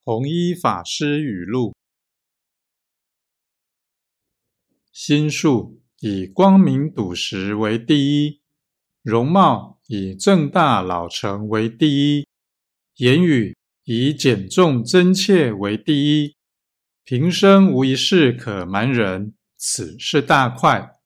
弘一法师语录：心术以光明笃实为第一，容貌以正大老成为第一，言语以简重真切为第一，平生无一事可瞒人，此是大快。